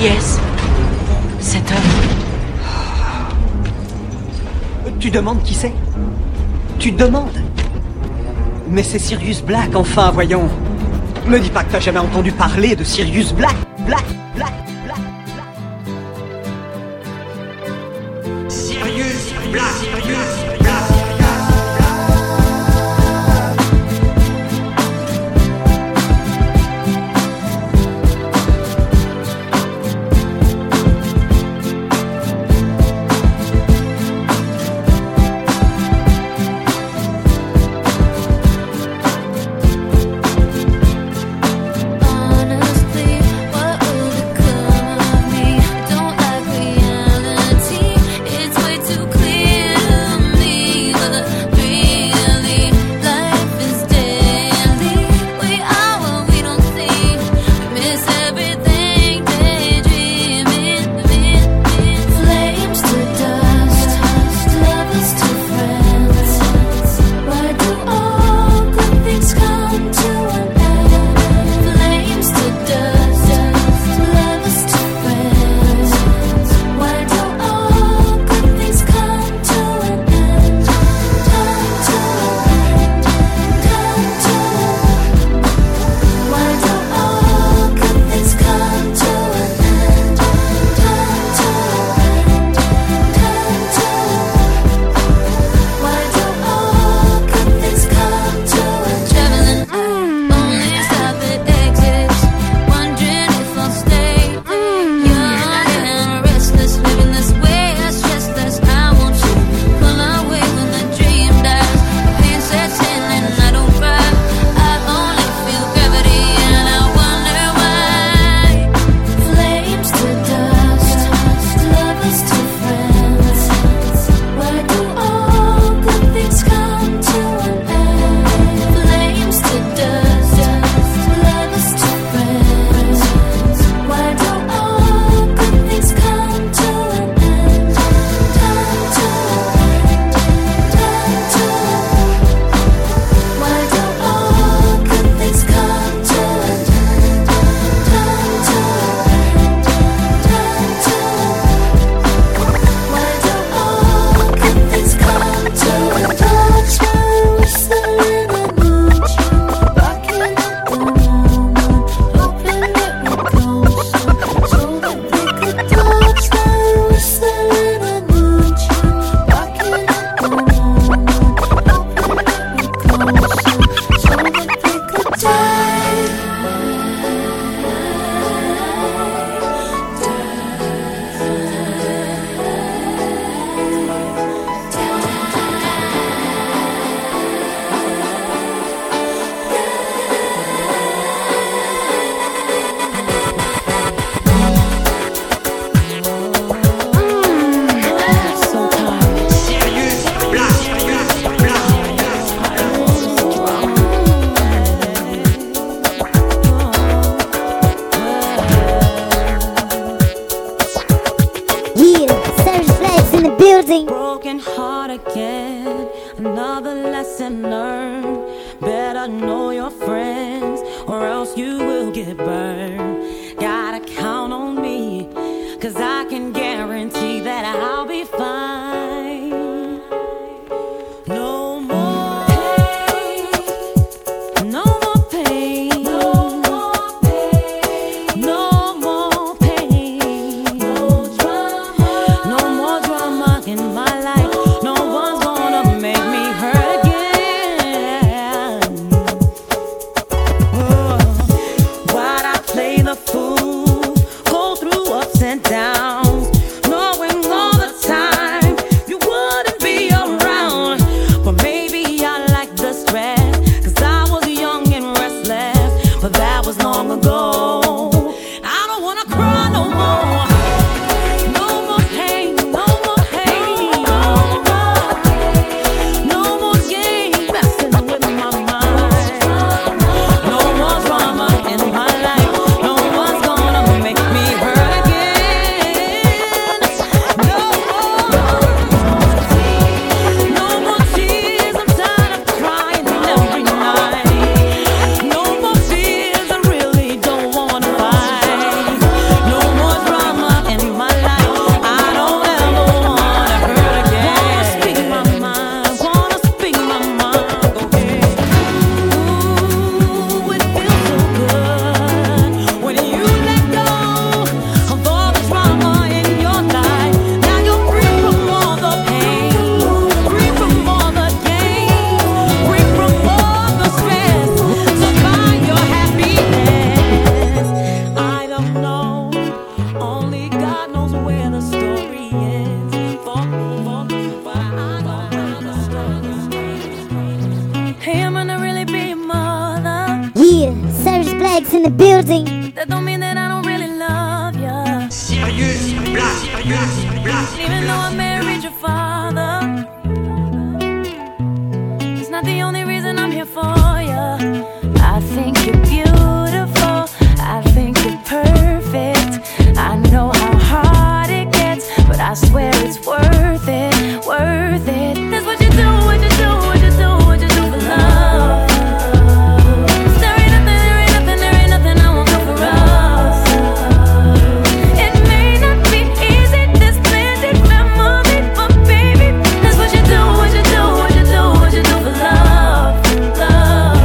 Qui est-ce? Cet homme? Tu demandes qui c'est? Tu demandes? Mais c'est Sirius Black, enfin, voyons. Me dis pas que t'as jamais entendu parler de Sirius Black. Black. Sirius Black. Broken heart again, another lesson learned. Better know your friends, or else you will get burned. Gotta count on me, 'cause I can guarantee that I'll be fine. No more pain, no more pain, no more pain, no more pain, no drama, no more drama in my life. No one's gonna make me hurt again. Why'd I play the fool, go through ups and downs, knowing all the time you wouldn't be around? But maybe I like the stress, 'cause I was young and restless, but that was long ago. I don't wanna cry no more. No more pain, no more pain, no more game messing with my mind. No more drama in my life. No one's gonna make me hurt again. No more tears. I'm tired of crying every night. No more fears. I really don't wanna fight. No more drama. Blacks in the building. That don't mean that I don't really love ya. Sirius Black. Even though I married your father, it's not the only reason I'm here for ya. I think you're beautiful, I think you're perfect. I know how hard it gets, but I swear it's worth it, worth it. That's what you do, what you do, what you do, what you do for love. There ain't nothing I won't do for us. It may not be easy, this splendid family, but baby, that's what you do, what you do, what you do, what you do for love, love.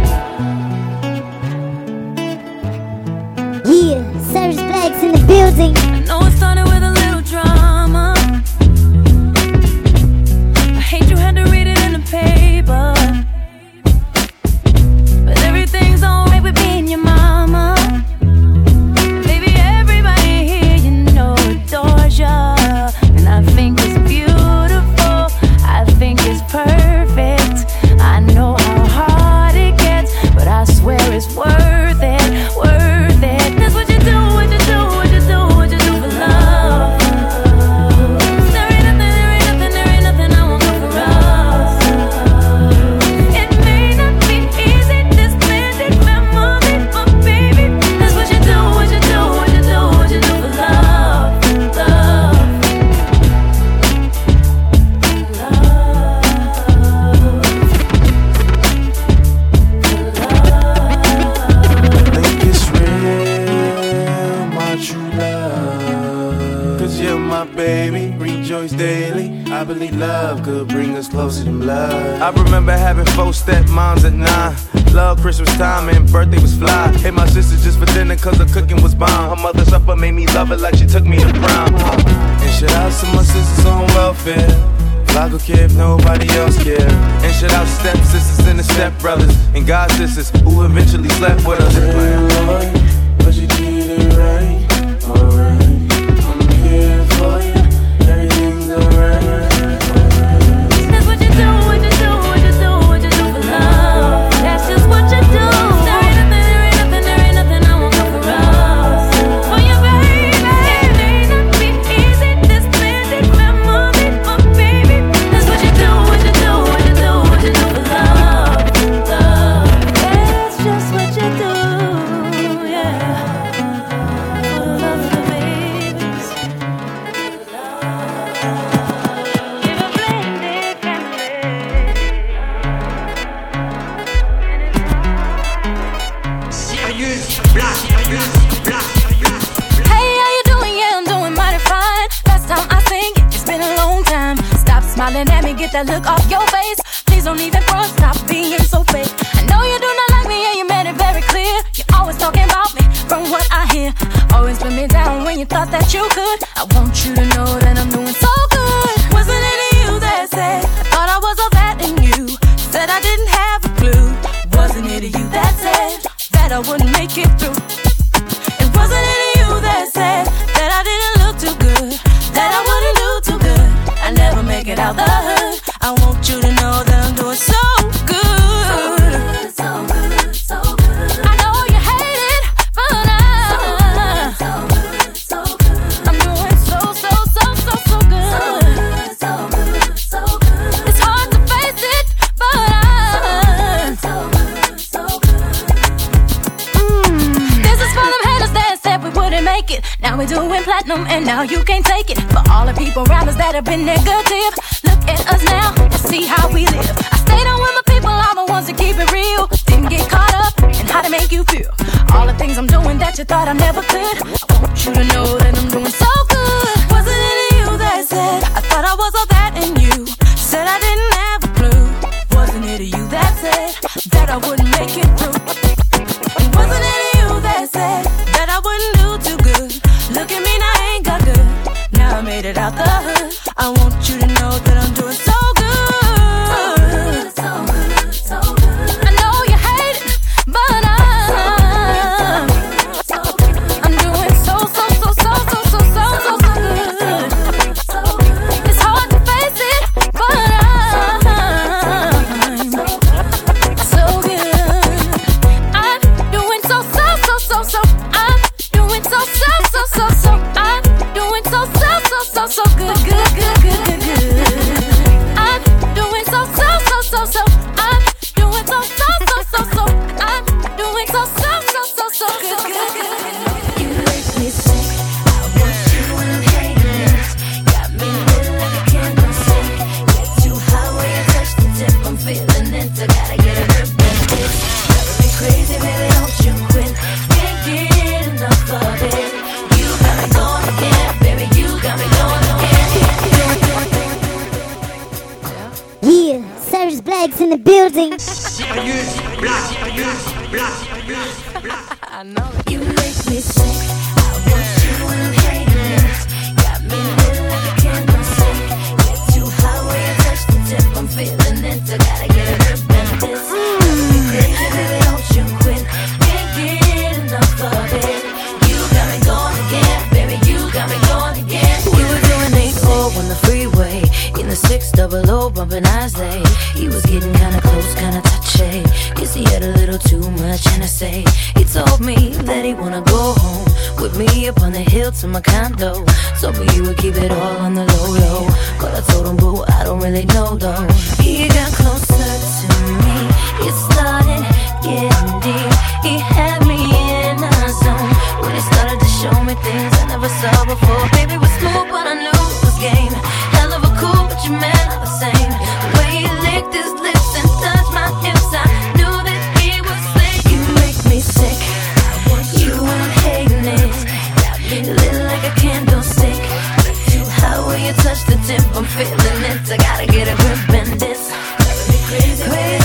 Yeah, Sirius Blacks in the building. I know it started with a little drama. I hate you had to read it in the paper, but everything's alright with being your mama. Baby, everybody here you know adores ya, and I think it's beautiful, I think it's perfect. I know how hard it gets, but I swear it's worth it, worth it. That's what you do, what you do, what you do, what you do for love. There ain't nothing I won't do for us. It may not be easy, this splendid family, but baby, that's what you do, what you do, what you do, what you do for love, love, Think it's real, my true love. Cause you're my baby, rejoice daily. I believe love could bring us closer than blood. I remember having 4 stepmoms at 9. Love Christmas time and birthday was fly. Hey, my sister just for dinner cause her cooking was bomb. Her mother's supper made me love it like she took me to prom. And shout out to my sisters on welfare. I could care if nobody else cared. And shout out step-sisters and the step-brothers and god-sisters who eventually slept with us. Lord, but you did it right, alright. I'm here for you, everything's alright. that's what you do, what you do, what you do, what you do for love. That's just what you do. There ain't nothing I won't do for us. For you, baby, it may not be easy, this splendid family, but baby, that's what you do, what you do, what you do, what you do for love, love. That's just what you do, yeah. For the love of the babies, give a blended family. Sirius Black. Hey, how you doing? Yeah, I'm doing mighty fine. Last time I sing, it's been a long time. Stop smiling at me, get that look off your face. Please don't even front, stop being so fake. I know you do not like me and you made it very clear. You're always talking about me, from what I hear. Always put me down when you thought that you could. I want you to know that I'm doing so good. Wasn't it you that said, I thought I was all that in you? Said I didn't have a clue. Wasn't it you that said that I wouldn't make it through? It wasn't it you that said that I didn't look too good, that I wouldn't do too good. I never make it out the hood. I want you to know that I'm doing so good. So good, so good. I know you hate it, but I'm doing so good. So good. It's hard to face it, but this is for them haters that said we wouldn't make it. Now we're doing platinum and now you can't take it. For all the people around us that have been negative, look at us now and see how we live. I stayed on with my people, all the ones that keep it real. Didn't get caught up in how to make you feel. All the things I'm doing that you thought I never could. I want you to know that I'm doing so good. Wasn't it you that said I thought I was all that in you? Said I didn't have a clue. Wasn't it you that said that I wouldn't make it through? Wasn't it you that said that I wouldn't do too good? Look at me now, I ain't got good. Now I made it out the hood. I want you to know that I'm doing so good. So good, so good. I know you hate it, but I'm doing so so good, good, good, good, good, good. I'm doing so, so, so, so, so. I'm doing so, so, so, so, so. I'm doing so, so, so, so, so good, good, good, good. You make me sick. I want you in haters. Got me lit like a candle stick. Get too high when you touch the tip. I'm feeling it. I gotta get a grip on this. Driving me crazy, baby, don't you quit. Can't get enough of it. You got me going again, baby. You got me going again. Yeah, Sirius Black's in the building. Sirius Black. I know it. You make me sick. I want you in haters. Got me lit like a candle stick. Get too high when you touch the tip. I'm feeling it. I gotta get a grip on this. Driving me crazy, baby, don't you quit. Can't get enough of it. You got me going again, baby. You got me going again. We were doing 8-4 on the freeway in the 600 bumping Islay. He was getting kinda close, kinda touchy. Guess he had a little too much Hennessy. He told me that he wanna go home with me up on the hill to my condo. Told me he would keep it all on the low low, but I told him, boo, I don't really know though. He got closer to me. It started getting deep. He had me in a zone when he started to show me things I never saw before. Baby was smooth, but I knew it was game. Hell of a cool, but your man not the same. The way he licked his lips and touched my hips, I knew that he was slick. You make me sick. You ain't hating it. Got me lit like a candlestick. Too high when you touch the tip. I'm feeling it. I gotta get a grip in this. Driving me crazy, crazy.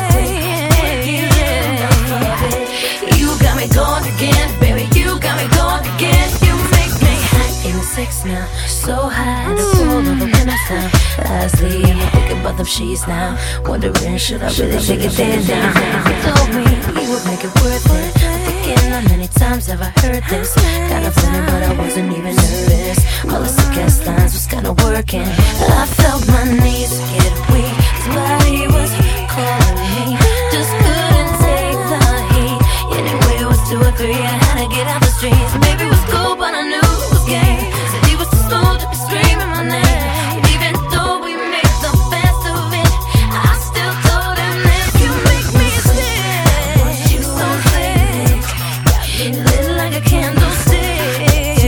You got me going again, baby. You got me going again. You make me hot in the 6 now. So high, the soul of a winner's now. Lastly, I'm thinking about them sheets now. Wondering, should I really take it there down? He told me he would make it worth it. Thinking how many times have I heard this? Kinda funny, but I wasn't even nervous. All the sick-ass lines was kinda working. I felt my knees get weak. His body was calling me. Just couldn't take the heat. Anyway, it was 2 or 3. I had to get out the streets. Maybe it was cool, but I knew it was gay. Said he was too slow to be screaming my name. And even though we made the best of it, I still told him that you make me sick. You so sick. Got me lit like a candlestick.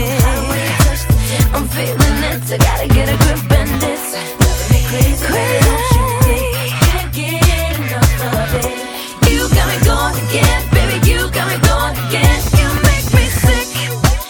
I'm feeling it. I gotta get a grip in this. Driving me crazy, crazy. Can't get enough of it. You got me going again, baby. You got me going again. You make me sick.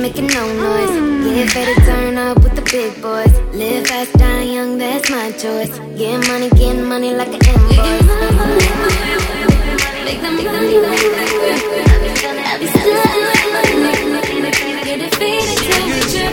making no noise. Get ready to turn up with the big boys. Live fast, die young, that's my choice. Get money like an invoice. Make the money like a grip. I'll be stunning. Get it faded till we trip.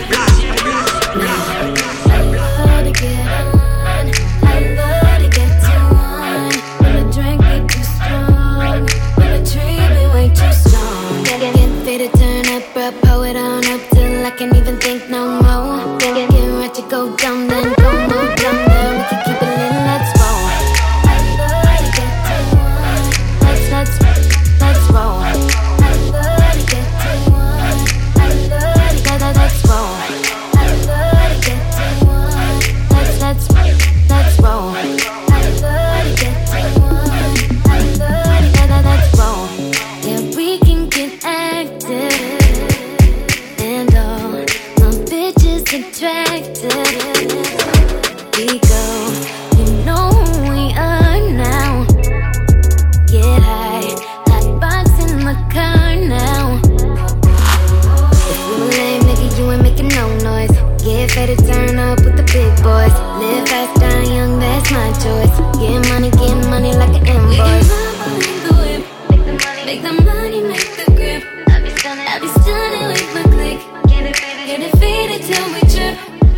I love to get on. I love to get to one. When the drink get too strong, when the tree be way too strong. Get faded, turn up, bro, pour it on up till I can't even think no more. Get ready to go dumb, then go more dumb, then we can keep it lit, let's roll. I love to get to one. Let's roll. I love to get to one. I love to let's roll. I love to get to one. Let's roll. I love to get to one. I love to let's roll. Yeah, we can get active. And all my bitches attractive. We go, you know who we are now. Get high, hot box in the car now. If you lame, nigga, you ain't making no noise. Get ready to turn up with the big boys. Live fast, die young, that's my choice. Get money like an invoice. Make the money, make the grip. I'll be stunning with my click. Get it faded till we trip.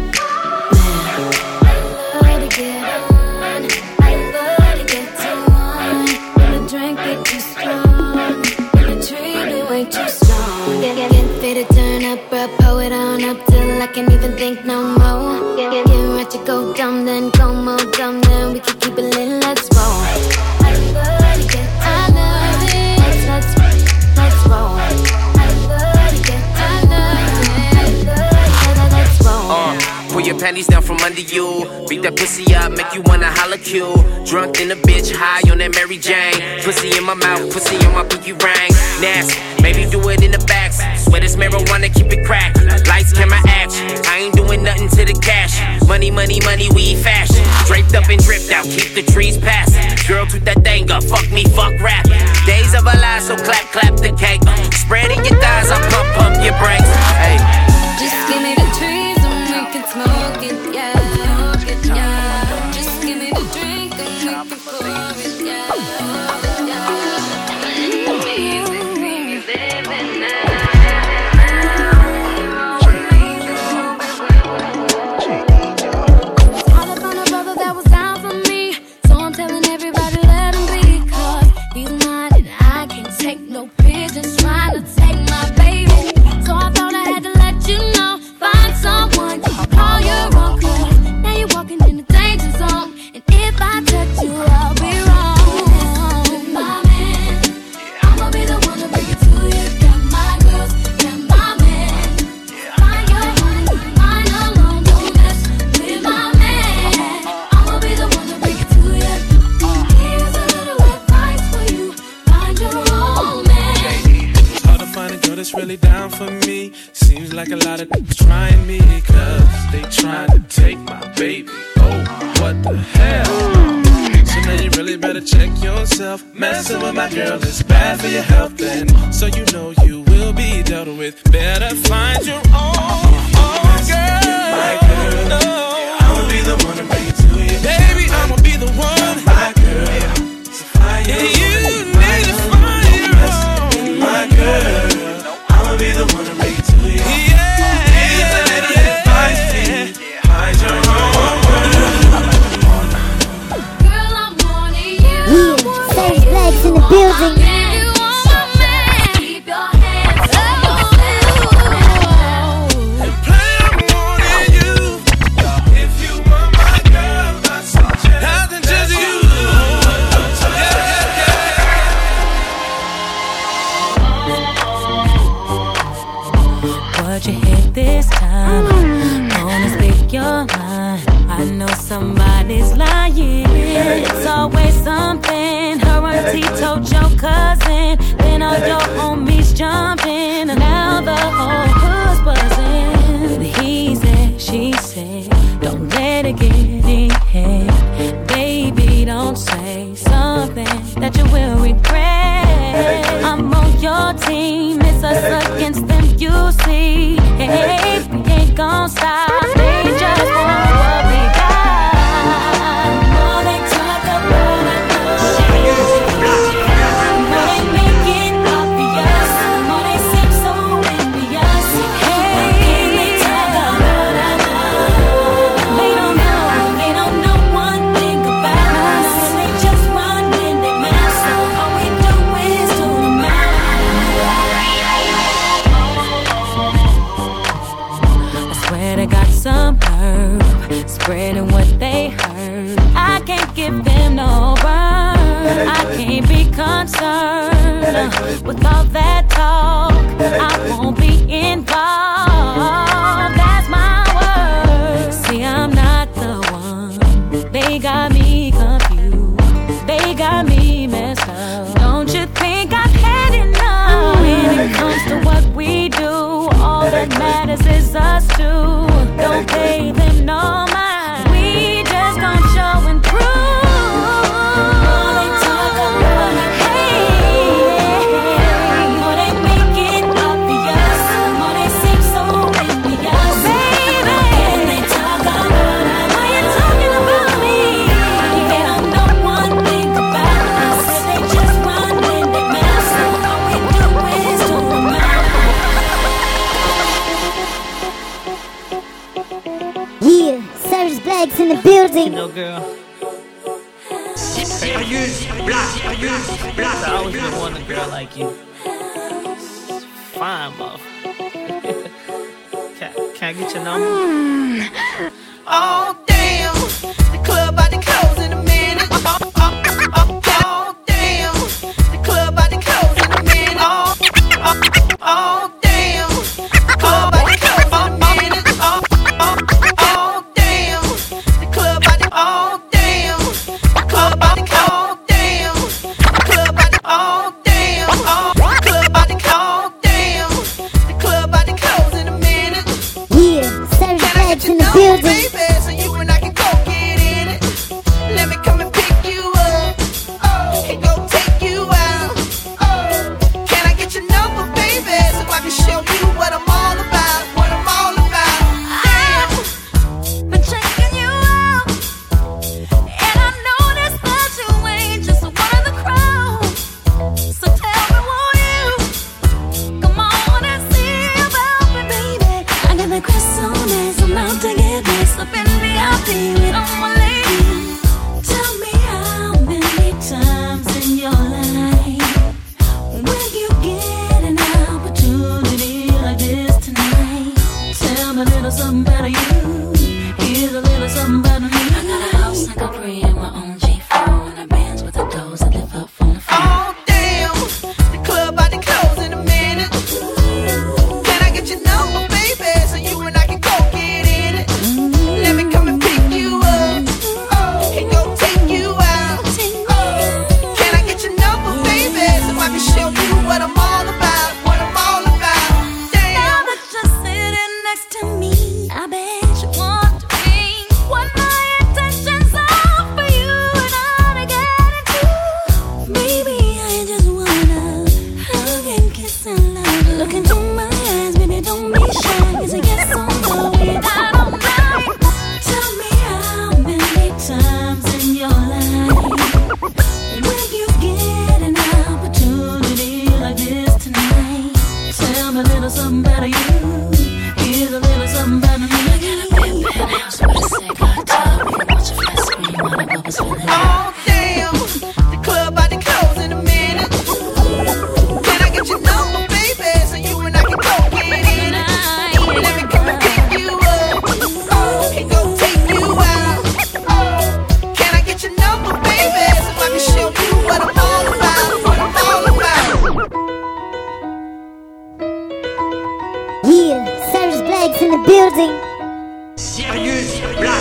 I love to get on. I love to get to one. When the drink get too strong, when the tree be way too strong. Get faded, turn up, bro, pour it on up till I can't even think no more. Get ready to go dumb, then go more dumb, then we can keep it lit, let's roll. I love to get to I love it. Let's roll. I love to get to I love it. Let's roll. Pull your panties down from under you. Beat that pussy up, make you wanna holla cue. Drunk in a bitch, high on that Mary Jane. Pussy in my mouth, pussy on my pinky ring. Nasty, maybe do it in the back. Swear this marijuana, keep it cracked. Lights, camera, action. I ain't doing nothing to the cash. Money, we fashion. Draped up and dripped out, keep the trees passing. Girl, toot that thing up, fuck me, fuck rap. Days of our lives, so clap the cake. Spreading your thighs, I pump your brakes. Hey. Just give me the trees and we can smoke it, yeah. Just give me the drink and we can pour it, yeah. Gotta find a brother that was down for me, so I'm telling everybody let him be, 'cause he's mine and I can't take no pigeons trying to take my baby. So I thought I had to let you know, find someone to call your own, 'cause now you're walking in the danger zone, and if I touch you, I'll be wrong. My man, I'ma be the one to bring it to you. Got my girls, got my man. Find your money, mine alone, don't mess with my man. I'ma be the one to bring it to you. Here's a little advice for you, find your own man. It's hard to find a girl that's really down for me. Seems like a lot of trying me, 'cause they trying to take my baby. Oh, what the hell? So now you really better check yourself. Messing with my girl is bad for your health, and so you know you will be dealt with. Better find your own girl. My girl, no. I'ma be the one to bring it to you. Baby, I'ma be the one. My girl, so find your own. You need to find your own. My girl, I'ma be the one to bring it to you. Here's a little advice for you. Find your own. Girl, I'm wanting you. Yeah, Savage Blacks in the building. You want my man. Keep your hands on yourself. Play, I'm wanting you. If you want my girl, I suggest nothing just you. What you hit this time? Wanna speak your mind? I know somebody's lying. It's always something. Her auntie told your cousin, then all your homies jumping, and now the whole hood's buzzing. He said, she said, don't let it get in head. Baby, don't say something that you will regret. I'm on your team, it's us against them, you see. better got some nerve, spreading what they heard. I can't give them no burn. I can't be concerned with all that talk. I won't be involved. That's my word. See, I'm not the one. They got me confused. They got me messed up. Don't you think I've had enough? When it comes to what we do, all that matters is us two. Don't pay them no mind. We just gon' show and prove. All they talk about it, more they make it obvious, more they seem so envious. Baby, they talk about it. Why you talking about me? They don't know one thing about us. They just run in their mouth. So all we do is do them out. Yeah, Cyrus Black's in the building. You know, girl, Sirius Black. I always been wanting a girl like you. Fine, motherfucker. Can I get your number? Oh damn, the club about to close in a minute. Oh damn, the club about to close in a minute. Oh damn, the club about to close in a minute. Oh damn, the club about to. Oh damn, the club about to. Oh damn, the club about to. Oh damn, club about to. Oh damn, the club about to close in a minute. Yeah, Cyrus Black's in the building. Baby, so you and I can go get in it. Let me come and pick you up. And go take you out. Can I get your number, baby, so I can show you what I'm all about? What I'm all about. Damn. Been checking you out, and I noticed that you ain't just one of the crowd. So tell me, won't you come on and see about me, baby? I got the croissants, I'm out to get this up in the VIP with all my ladies. Tell me how many times in your life will you get an opportunity like this tonight? Tell me a little something about you. Here's a little something about me. I got a house like a Capri and my own G4 and a bands with the doors that lift up from the floor. Oh damn, the club about to close in a minute. Can I get your number, baby, so you and I can go get in it? Let me come and pick you up and go take you out. Can I get your number, baby, so I can show you what I'm all about? What I'm all about. Now Damn. that you're sitting next to me, I bet you want to be what my intentions are for you and I to get into. Baby, I just wanna hug and kiss and love. Look into my eyes, baby, don't be shy. It's a yes or no, without all night. Tell me how many times in your life will you get an opportunity like this tonight? Tell me a little something about you. Here's a little something about me. I got a big penthouse with a cigar tub. We can watch a flat screen while the bubbles fill it up. Oh damn, the club about to close in a minute. Can I get your number, baby, so you and I can go get in it? Let me come and pick you up and go take you out. Can I get your number, baby, so I can show you what I'm all about? What I'm all about. Yeah, Cyrus Black's in the building. Sirius Black.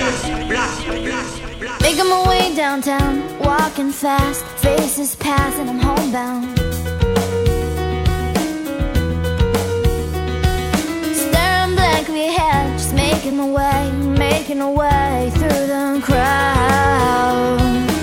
Making my way downtown, walking fast, faces pass and I'm homebound. Staring blankly ahead, just making my way through the crowd.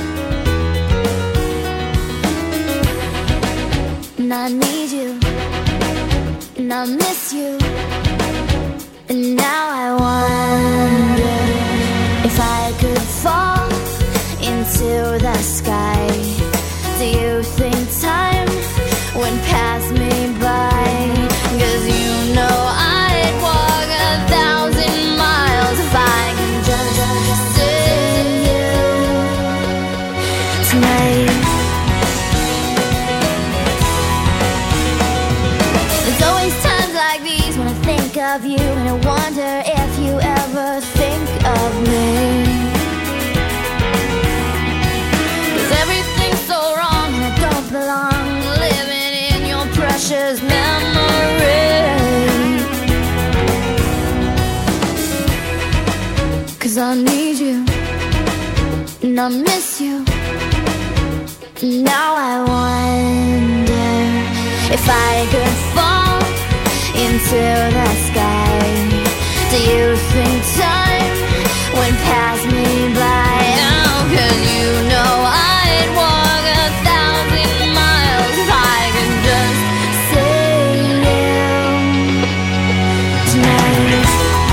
And I need you, and I miss you, and now I wonder if I could fall into the sky. Do you think time went past me by? 'Cause you know I'd walk 1,000 miles if I can just see you tonight. There's always times like these when I think of you and I wonder if you ever think of me. 'Cause everything's so wrong and I don't belong living in your precious memory. 'Cause I need you and I miss you. Now I wonder if I could fall into the sky. Do you think time would pass me by? Oh, 'cause you know I'd walk 1,000 miles if I could just see you tonight.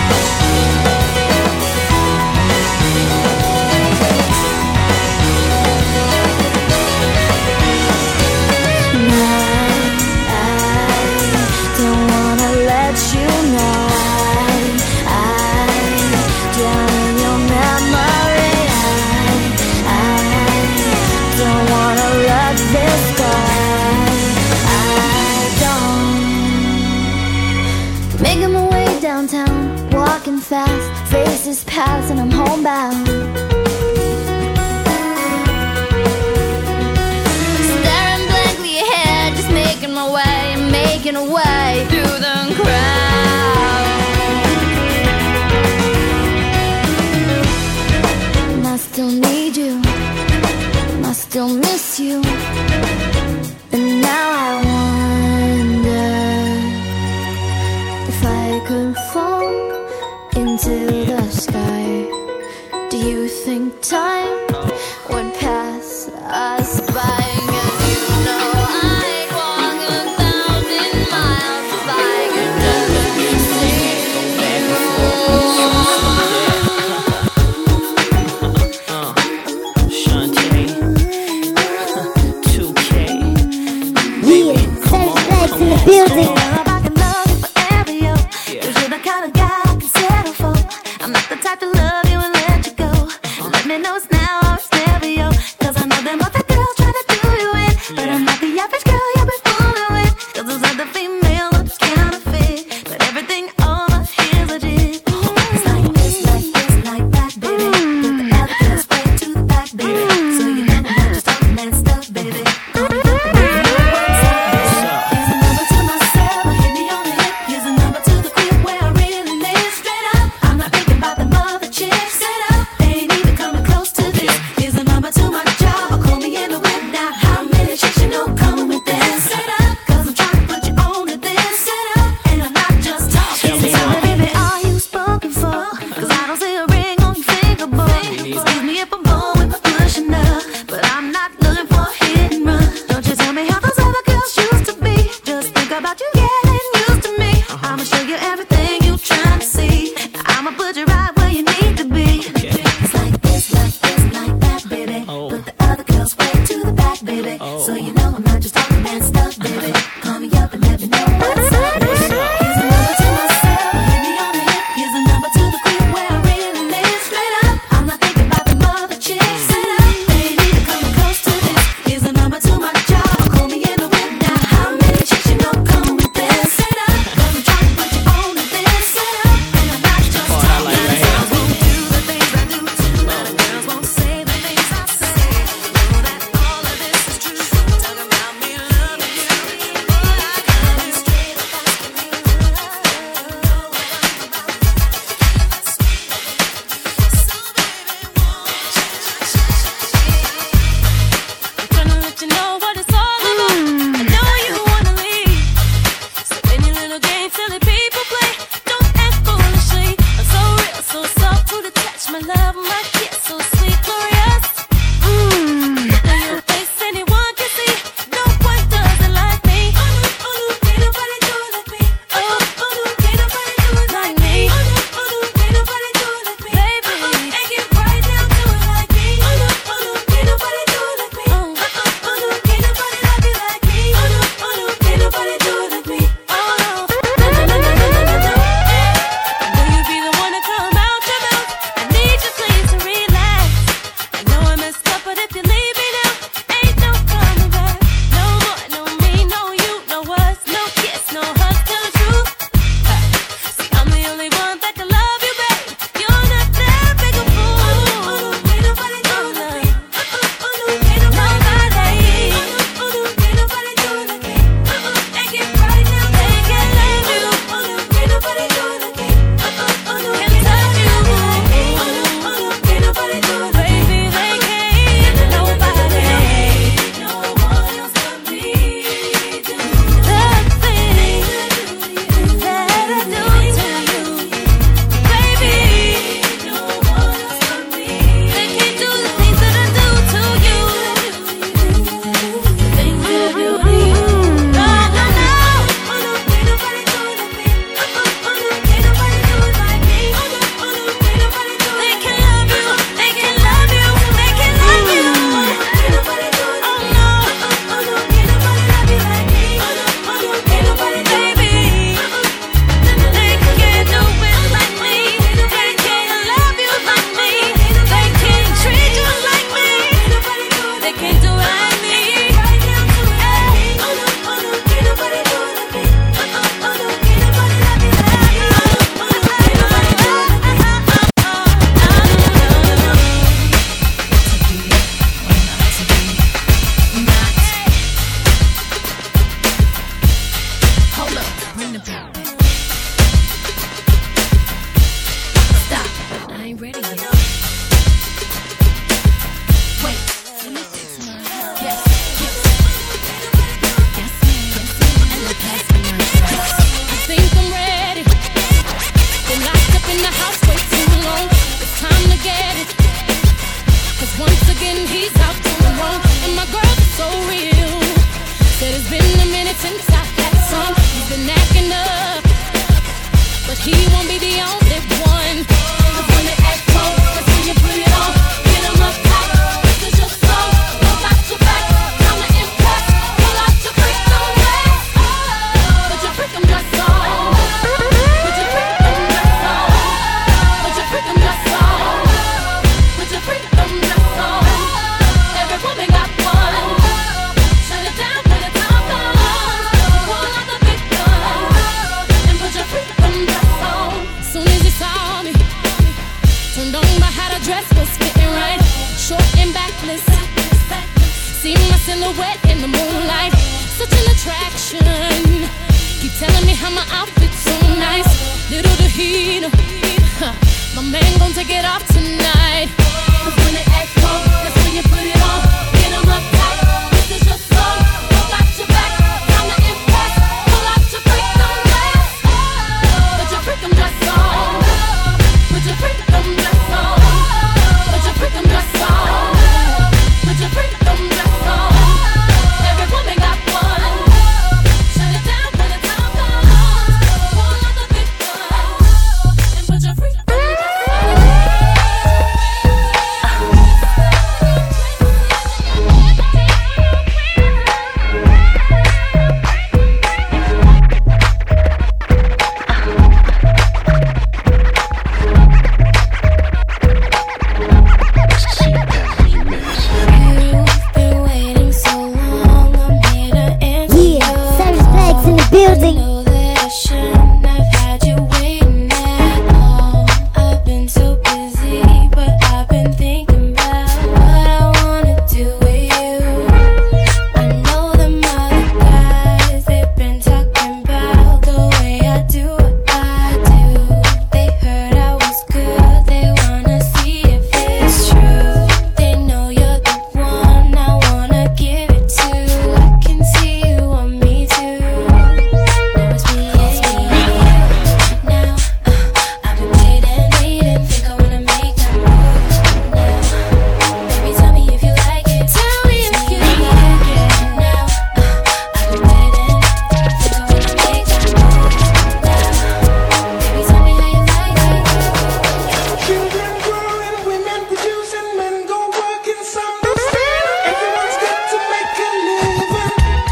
Making my way downtown, walking fast, faces pass and I'm homebound. Staring blankly ahead, just making my way, making a way through the crowd. And I still need you, and I still miss you. And now I wonder if I could fall into the sky. Do you think time would pass us by? 'Cause you know I'd walk 1,000 miles if I could just see Shantae, 2K. Yeah, Serge Black's in the building. I'm not the type to love you and let you go. Let me know it's now the house way too long. It's time to get it. Cause once again he's out doing wrong. And my girl is so real. Said it's been a minute since I had some. He's been acting up, but he won't be the only one. Cause when they act cold, that's when you put it on. Get him up tight, this is your song. Go back to back, time to impress. Pull out your freakum dress. Put your freakum dress on. Put your freakum dress on. Put your freakum dress on. Put your freakum dress on. Every woman got one. Shut it down when the time comes. Pull out the big gun and put your freakum dress on. Soon as he saw me, turned on by how the dress was fitting right. Short and backless, see my silhouette in the moonlight. Such an attraction. Keep telling me how my outfit's so nice. Little did he know, my man gon' take it off tonight. Cause when they act cold, that's when you put it on. Get him up tight, this is your song. Go back to back, time to impress. Pull out your freakum dress. Put your freakum dress on. Put your freakum dress on. Put your freakum dress on. Put your freakum dress on. Every woman got one. Shut it down when the time comes. Pull out the big gun and put your freakum dress on. You've been waiting so long, I'm here to answer Yeah, Cyrus Black's in the I building. know that I shouldn't have had you waiting at all. I've been so busy, but I've been thinking about what I wanna do with you. I know them other guys, they've been talking about the way I do what I do. They heard I was good, they wanna see if it's true. They know you're the one I wanna give it to. I can see you want me too. Now it's me and you. Now I've been waiting, think I wanna make that move now. Baby, tell me if you like it. Tell me if you like it. Now I've been waiting, think I wanna make that move now. Baby, tell me how you like it. Children growing, women producing, men go working, some go stealing. Everyone's got to make a living.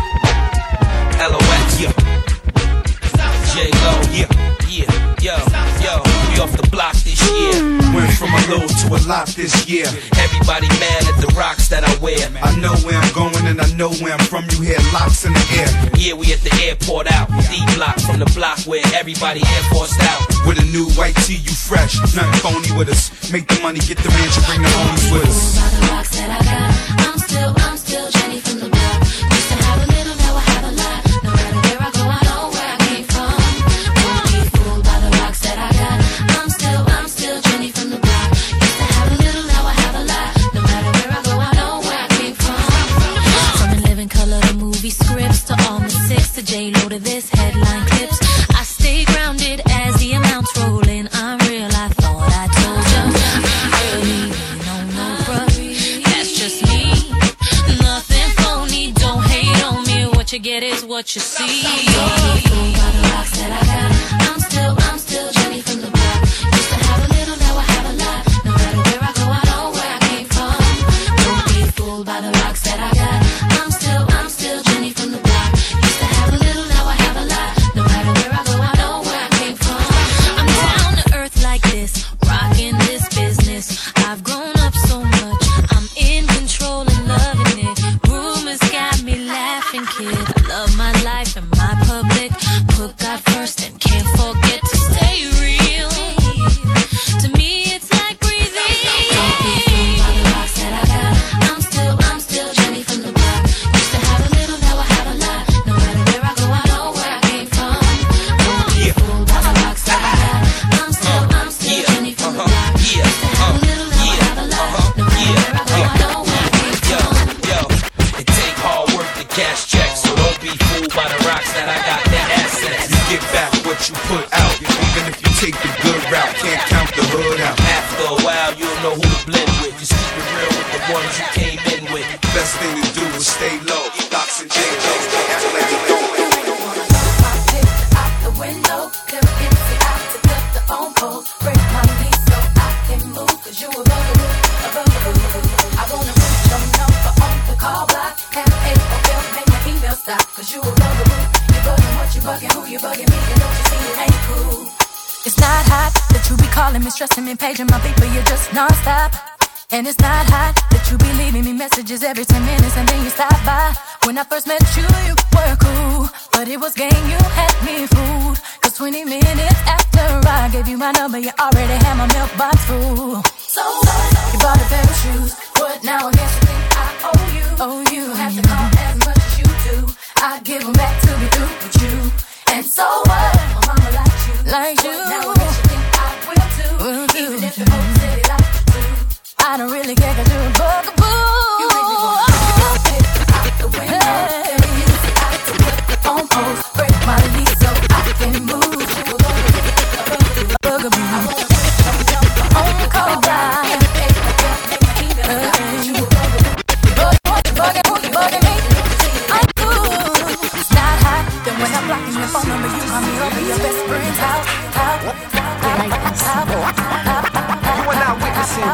LOX, yeah. J-Lo, yeah, yo, we off the block this year. Went from a low to a lot this year. Everybody mad at the rocks that I wear. I know where I'm going and I know where I'm from. You hear locks in the air. Yeah, we at the airport out. D-block from the block where everybody Air Forced out. With a new white tee, you fresh. Nothing phony with us. Make the money, get the mansion, bring the homies with us. By the rocks that I got, I'm still Jenny from the block. Used to have a little, now I have a lot. No matter where I go, I know where I came from. Don't be fooled by the rocks that I got. I'm still Jenny from the block. Used to have a little, now I have a lot. No matter where I go, I know where I came from. From the living color to movie scripts to all the six to J-Lo to this headline clips. I stay grounded as the amounts roll in. I'm real, I thought I told you. I'm really no bruh. That's just me. Nothing phony, don't hate on me. What you get is what you see. Don't be fooled by the rocks that I got. I'm still Jenny from the block. Used to have a little, now I have a lot. No matter where I go, I know where I came from. Don't be fooled by the rocks that I got. I'm still Jenny from the block. Used to have a little, now I have a lot. No matter where I go, I know where I came from. I'm down to earth like this, rocking this business. I've grown up so much, I'm in control and loving it. Rumors got me laughing, kid. I love my life and my public you came in with. Best thing to do is stay low. Locks and J-Lo's, don't act like you don't. Out the window, them empty out to cut the phone poles. Break my knees so I can move, 'cause you a bugaboo, a bugaboo. I wanna put your number on the call block. Have AOL, make my email stop, 'cause you a bugaboo. You bugging what you bugging, who you bugging me, and don't you see it ain't cool. It's not hot that you be calling me, stressing me, paging my beat, but you're just non-stop. And it's not hot that you be leaving me messages every 10 minutes and then you stop by. When I first met you, you were cool, but it was game, you had me fooled. 'Cause 20 minutes after I gave you my number, you already had my mailbox full. So what? You bought a pair of shoes, What now? I guess you think I owe you. oh you You have to call as much as you do. I give them back to be through with you. And so what? My mama likes you. like you. What now? I guess you think I will too. Even if the folks say they like you too. I don't really care 'cause you're a bugaboo. You make me wanna out the window. Out to put the phone poles. Break my lease so I can move. Bugaboo. On the call block. Bugging me. I'm cool. It's not hot. Then when I'm blocking your phone number, you call me over your best friend's house. You are now witnessing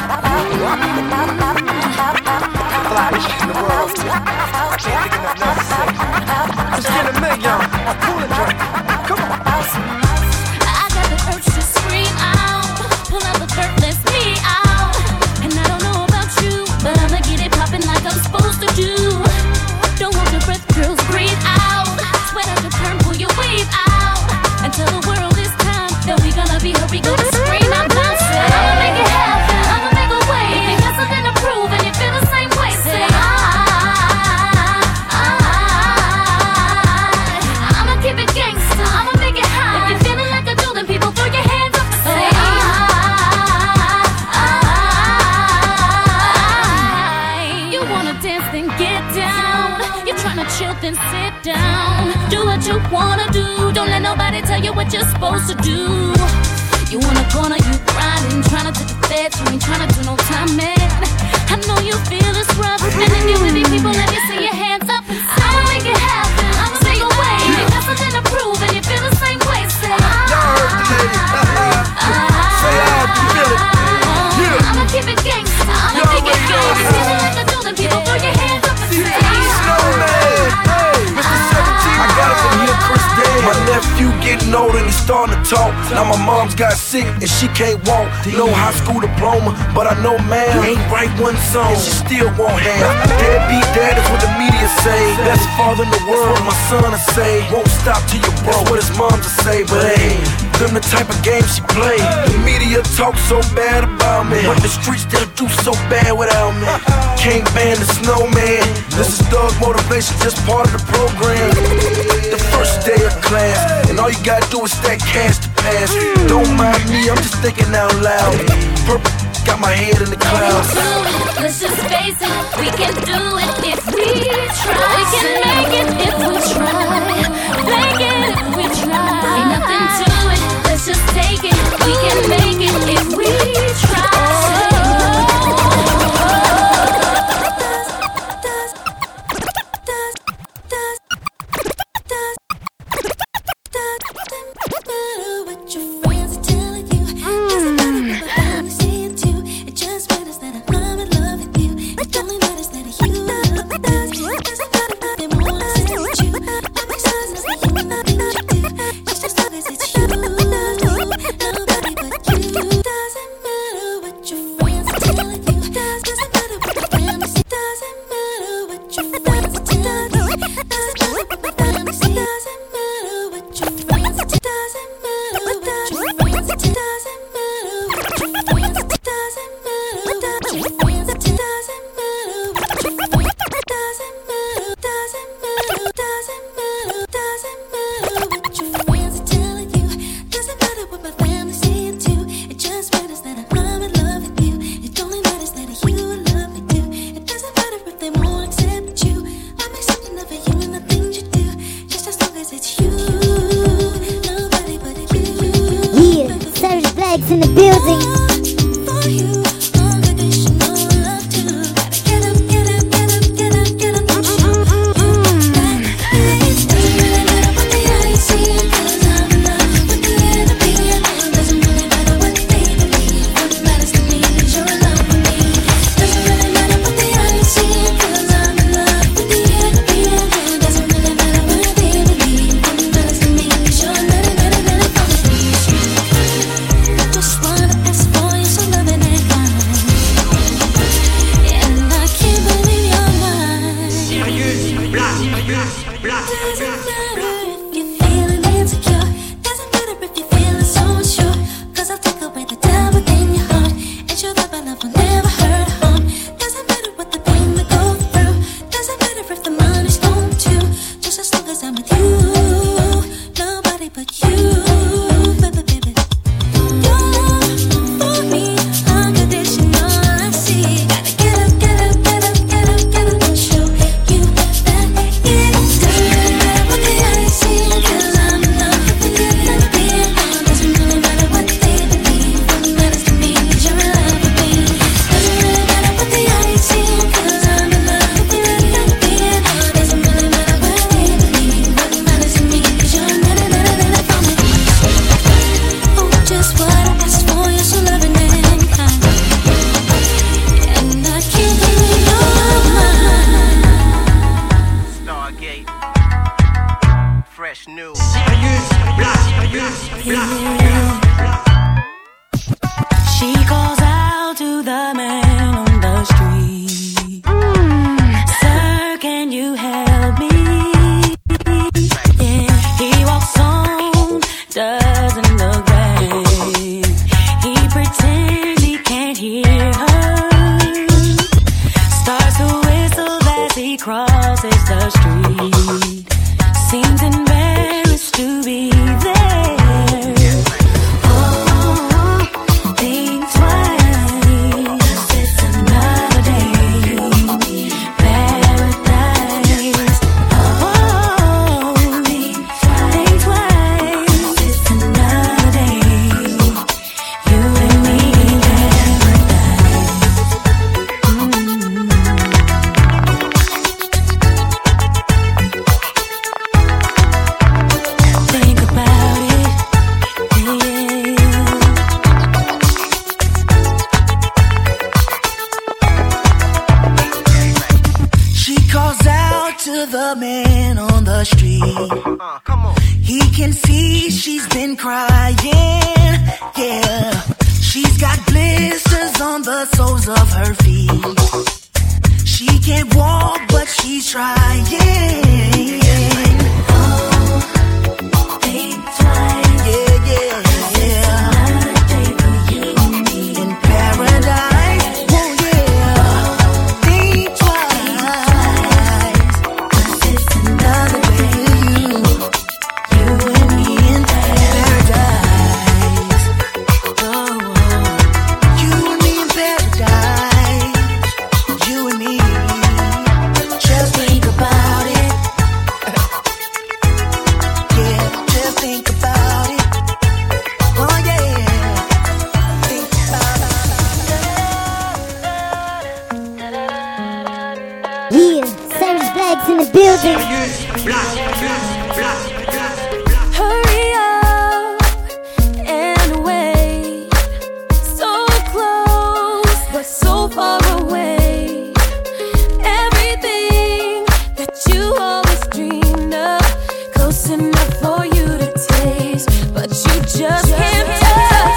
flyest in the world. I can't think enough now to say. Just get a million. Pull a drink. Come on. I got the urge to scream out. Pull out the dirt, let's me out. And I don't know about you, but I'ma get it poppin' like I'm supposed to do. Don't hold your breath, girls, breathe out. Sweat out your turn, pull your wave out. And tell the world it's time that we gonna be hurt, we gonna scream out loud. Say, I'ma make it happen, I'ma make a way. If you got something to prove and you feel the same way, say I'ma keep it gangsta, I'ma make it high. If you're feeling like I do, then people throw your hands up and say You wanna dance, then get down. You're trying to chill, then sit down. Do what you wanna do. Don't let nobody tell you what you're supposed to do. You wanna corner, you grinding, trying to take the feds. You ain't trying to do no time, man. I know you feel it's rough. And if you with me, people, let me see your hands up and say I'ma make it happen, I'ma make a way. If you got something to prove and you feel the same way, say I'ma keep it gangsta, I'ma make it good. If you feeling like I do, then people throw your hands up and say I got it from here, Chris Day. My nephew getting older and he's starting to talk. Now my mom's got sick and she can't walk. No high school diploma, but I know man ain't write one song and she still won't have. Deadbeat dad is what the media say. Best father in the world, my son to say. Won't stop till you're broke, what his mom to say. But hey, them the type of game she play. The media talk so bad about me, but the streets they'll do so bad without me. Can't ban the snowman. This is Thug Motivation, just part of the program. The first day of class, and all you gotta do is stack cash to pass. Don't mind me, I'm just thinking out loud. Purple got my head in the clouds. Let's just face it, we can do it if we try. We can make it if we try. Make it if we try. Ain't nothing to it, let's just take it. We can make it if we try. In the building. Come on. He can see she's been crying, yeah. She's got blisters on the soles of her feet. She can't walk, but she's trying. Oh, think twice. Yeah, yeah, yeah. It's another day for you and me in paradise. Oh, yeah. Think twice. 'Cause it's another day for you and me in paradise. Oh, you and me in paradise. You and me. Just think about it. Yeah, just think about it. Oh yeah, think about Yeah, Cyrus Black's in the building. Hurry up and wait. So close, but so far away. Everything that you always dreamed of, close enough for you to taste, but you just can't touch.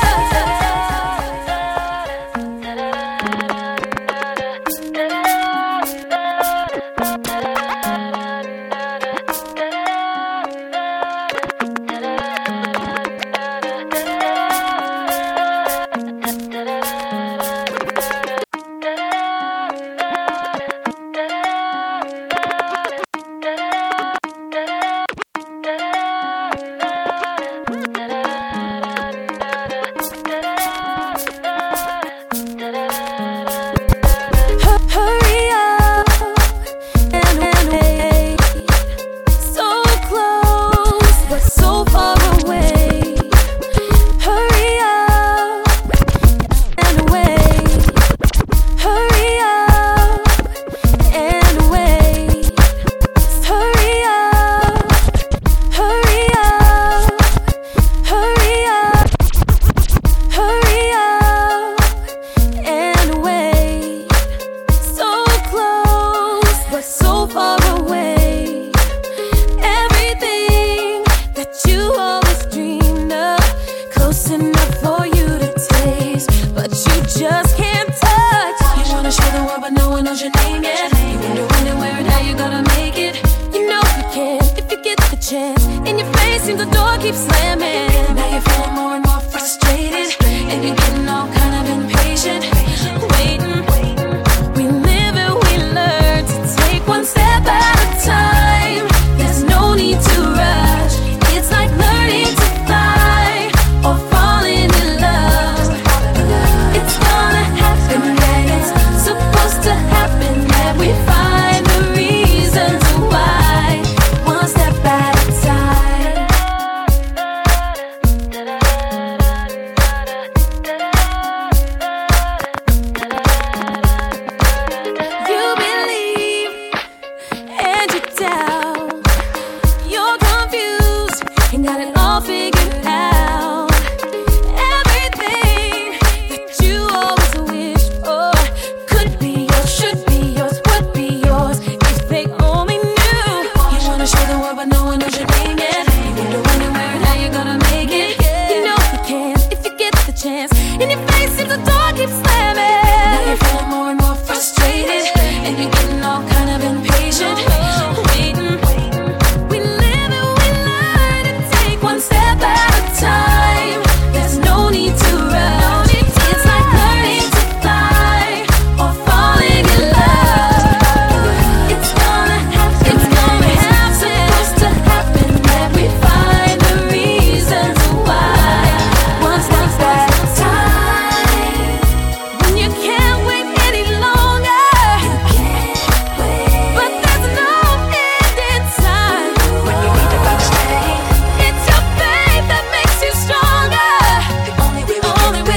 Hurry up and wait. So close, but so far away. Hurry up and wait. Hurry up and wait. Hurry up. Hurry up. Hurry up. Hurry up and wait. So close, but so far away. Everything that you always dreamed of, close enough for you to taste, but you just can't touch. You wanna show the world, but no one knows your name yet. You wonder when and where and how you gonna make it. You know you can if you get the chance. In your face, seems the door keeps slamming. Now you're feeling more and more frustrated, and you're getting all kind of impatient. Waiting. We live and we learn to take one step at a time. There's no need to rush. It's like learning to fly or falling in love. It's gonna happen, yeah, it's supposed to happen. That we find the reasons why. One step at a time. You believe and you doubt. You're confused and got it all figured out. Everything that you always wished for could be yours, should be yours, would be yours if they only knew. You wanna show the world, but no one knows your name yet. You wonder when and where and how you're gonna make it. You know you can if you get the chance. In your face, seems the door keeps slamming. Now you're feeling more and more frustrated, and you're getting all kind of impatient. Waiting. We live and we learn to take one step at a time. There's no need to rush. It's like learning to fly or falling in love. It's gonna happen. It's gonna happen. Supposed to happen. That we find the reasons why. One step at a time. When you can't wait any longer. But there's no end in time. When you need to stay. It's your faith that makes you stronger. The only way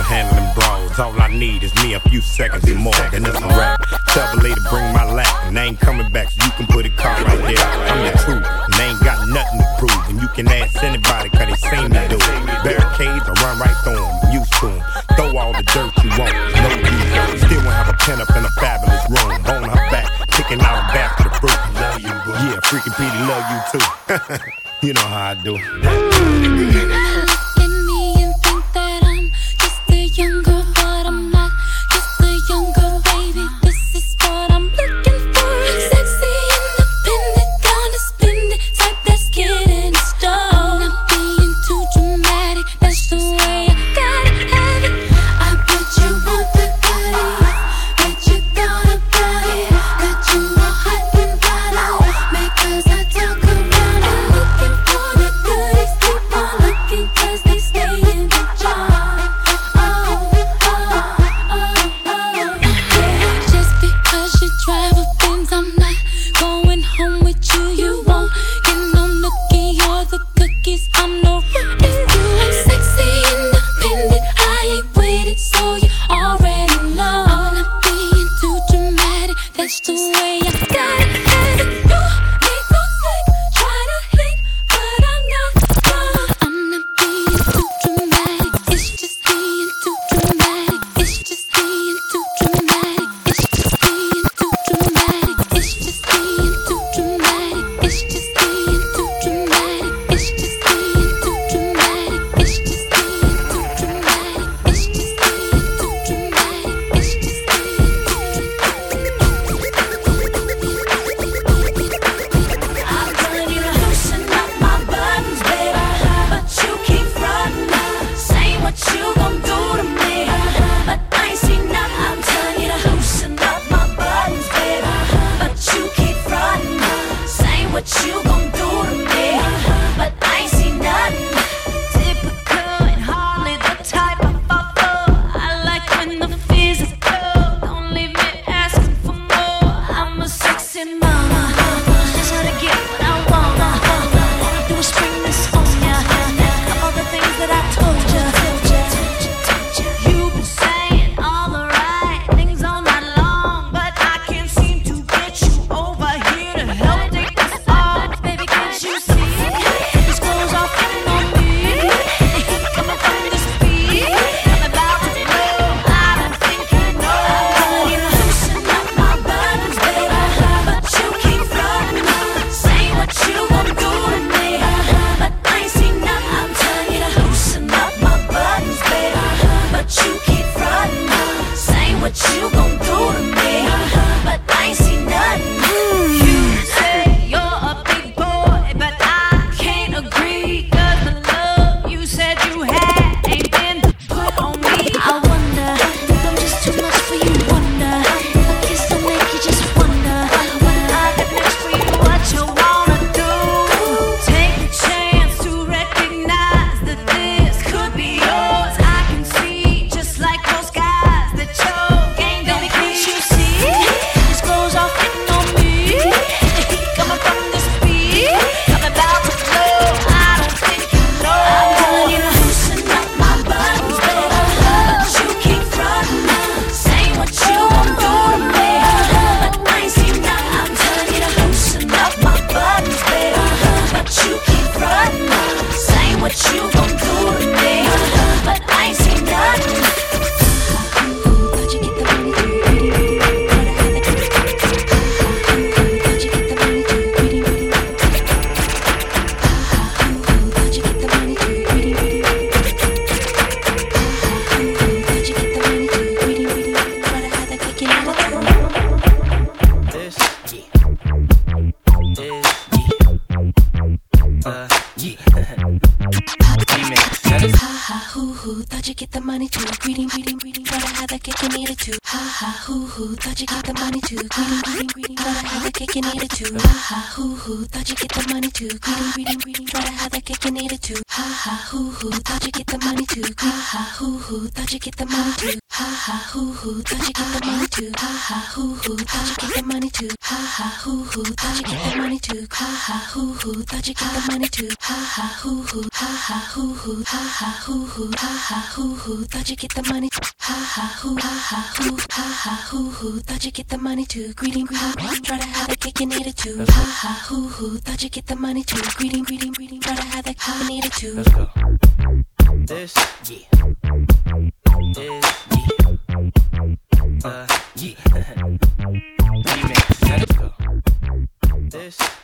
handle them brawls. All I need is me a few seconds and more, then it's a rap. Tell the lady bring my lap, and they ain't coming back, so you can put a car right there. I'm the truth, and they ain't got nothing to prove. And you can ask anybody, cause they seen me do it. Barricades, I run right through them, I'm used to them. Throw all the dirt you want, no use. Still won't have a pen up in a fabulous room. On her back, picking out a basket of fruit. Love you, bro. Yeah, freaking Petey, love you too. You know how I do. Look at me and think that I'm just a young girl, but I'm not just a young girl, baby. This is what I'm looking for. Sexy, independent, gonna spend it, type that's getting it started. Not being too dramatic, that's the way I gotta have it. I bet you want the goodies, bet you thought about it. Got you all hot and bothered, because I talk around it. Looking for the goodies, keep on looking, cause they stay in the jar. Yeah. Just because you drive a Benz, I'm not going home with you. You won't get no nookie or the cookies. I'm no rookie. I'm sexy, independent, I ain't waited, so you already know. I'm not being too dramatic, that's the way I gotta have it. You need no slick, try to hit, but I'm not wrong. I'm not being too dramatic, it's just being too dramatic. It's just being too dramatic. It's just being too dramatic. It's just being too dramatic. It's just being too dramatic. It's just being too dramatic. It's just being too dramatic. It's just being too dramatic. It's just being I'm telling you to loosen up my buttons, baby, but you keep frontin', saying what you gon' do to me, but I ain't seen nothing. I'm telling you to loosen up my buttons, baby, but you keep frontin', saying what you gon' do to me, but I ain't seen nothing. Typical and hardly the type I fall for. I like when the physical, don't leave me asking for more. I'm a sexy mama, just how to get what I want. All I do is spring this on ya, all the things that I told ya. You've been saying all the right things all night long, but I can't seem to get you over here to help take this off. Baby, can't you see? This clothes are fitting on me. The heat coming from this beat, I'm about to blow. I don't think you know. I'm telling you to loosen up my buttons, baby, but you keep frontin', saying what you gon' do to me, but I ain't seen nothing. I'm telling you to loosen up my buttons, baby, but you keep frontin', saying what you gon' do to me, but I ain't seen nothing. You say you're a big boy, but I can't agree, cause the love you said you had ain't been put on me. I wonder if I'm just too much for you, wonder. A kiss to make you just wonder what I got next for you, what you wanna do. Take the chance to recognize that this could be yours. I can see, just like those guys, that your game don't can't you see? These clothes are fitting on me. The heat coming from this beat, I'm about to blow. I don't think you know. I'm telling you to loosen up my buttons, baby, but you keep frontin', saying what you gon' do to me, but I ain't seen nothing. I'm telling you to loosen up my buttons, baby, but you keep frontin', saying what you gon' do to me, but I ain't seen nothing. Thought you get the money too greedy, but I had to get thought you get the money too greedy, thought you get the money too greedy, thought you get the money too greedy, but I had to kick it out of This, Ha ha hoo hoo, thought you get the money too greedy, but I had the kick you needed to. Ha ha hoo hoo, thought you get the money too greedy, but I had the kick you needed to. Ha ha hoo hoo, thought you get the money too greedy, but I had the kick you needed to. Ha ha hoo hoo, thought you get the money too greedy. Ha ha hoo hoo, thought you get the money too. Ha ha hoo hoo, thought you get the money too. Ha ha hoo hoo, thought you get the money too. Ha ha hoo hoo, thought you get the money too. Ha ha hoo hoo, thought you get the money too. Ha ha hoo hoo, ha ha hoo hoo, ha ha hoo hoo, ha ha hoo hoo, thought you get the money. Ha ha hoo, ha ha hoo, ha ha hoo hoo, thought you get the money too. Greeting, try to have the cake and eat it too. Ha ha hoo hoo, thought you get the money too. Greeting, try to have the cake and eat it too. Let's go. This, yeah. This, yeah. Yeah. Remix. Let's go. This.